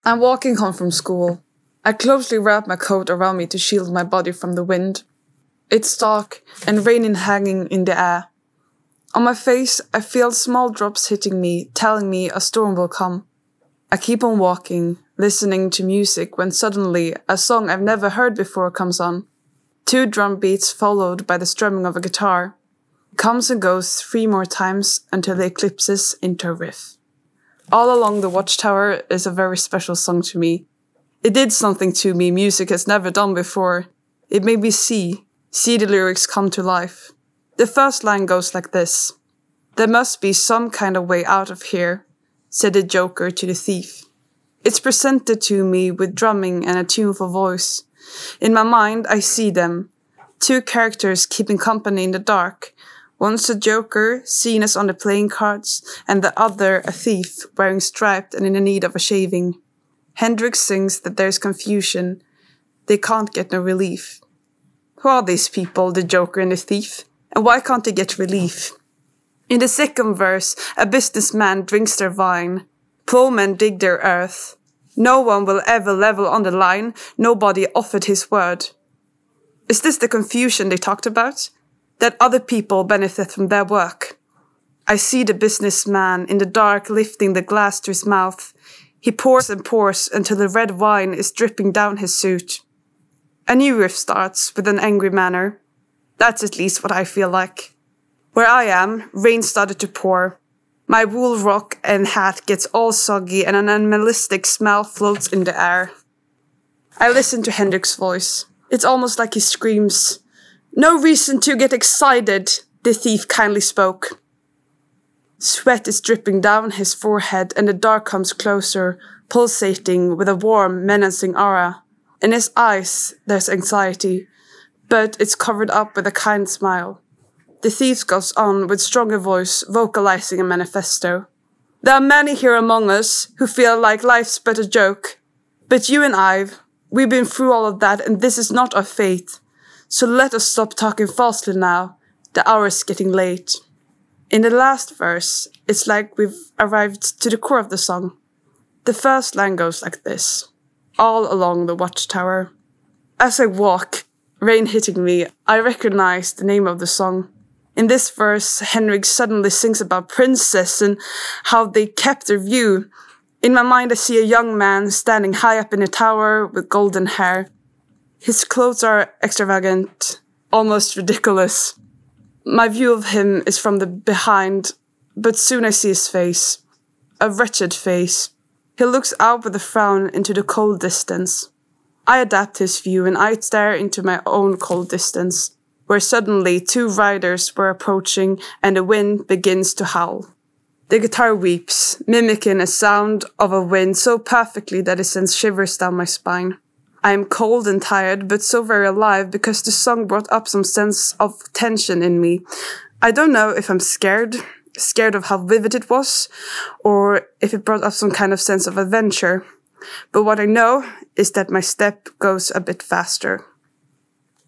I'm walking home from school. I closely wrap my coat around me to shield my body from the wind. It's dark and raining hanging in the air. On my face, I feel small drops hitting me, telling me a storm will come. I keep on walking, listening to music when suddenly a song I've never heard before comes on. 2 drum beats followed by the strumming of a guitar. It comes and goes 3 more times until it eclipses into a riff. All Along the Watchtower is a very special song to me. It did something to me music has never done before. It made me see the lyrics come to life. The first line goes like this. "There must be some kind of way out of here," said the Joker to the thief. It's presented to me with drumming and a tuneful voice. In my mind, I see them. 2 characters keeping company in the dark. One's a joker, seen as on the playing cards, and the other a thief, wearing striped and in the need of a shaving. Hendrix sings that there's confusion. They can't get no relief. Who are these people, the joker and the thief? And why can't they get relief? In the second verse, a businessman drinks their wine. Poor men dig their earth. No one will ever level on the line. Nobody offered his word. Is this the confusion they talked about? That other people benefit from their work. I see the businessman in the dark lifting the glass to his mouth. He pours and pours until the red wine is dripping down his suit. A new riff starts with an angry manner. That's at least what I feel like. Where I am, rain started to pour. My wool rock and hat gets all soggy and an animalistic smell floats in the air. I listen to Hendrix's voice. It's almost like he screams, "No reason to get excited," the thief kindly spoke. Sweat is dripping down his forehead and the dark comes closer, pulsating with a warm, menacing aura. In his eyes, there's anxiety, but it's covered up with a kind smile. The thief goes on with stronger voice, vocalizing a manifesto. "There are many here among us who feel like life's but a joke. But you and we've been through all of that and this is not our fate. So let us stop talking falsely now. The hour's getting late." In the last verse, it's like we've arrived to the core of the song. The first line goes like this. All along the watchtower. As I walk, rain hitting me, I recognize the name of the song. In this verse, Hendrix suddenly sings about princess and how they kept their view. In my mind, I see a young man standing high up in a tower with golden hair. His clothes are extravagant, almost ridiculous. My view of him is from the behind, but soon I see his face. A wretched face. He looks out with a frown into the cold distance. I adapt his view and I stare into my own cold distance, where suddenly 2 riders were approaching and the wind begins to howl. The guitar weeps, mimicking a sound of a wind so perfectly that it sends shivers down my spine. I am cold and tired, but so very alive because the song brought up some sense of tension in me. I don't know if I'm scared of how vivid it was, or if it brought up some kind of sense of adventure. But what I know is that my step goes a bit faster.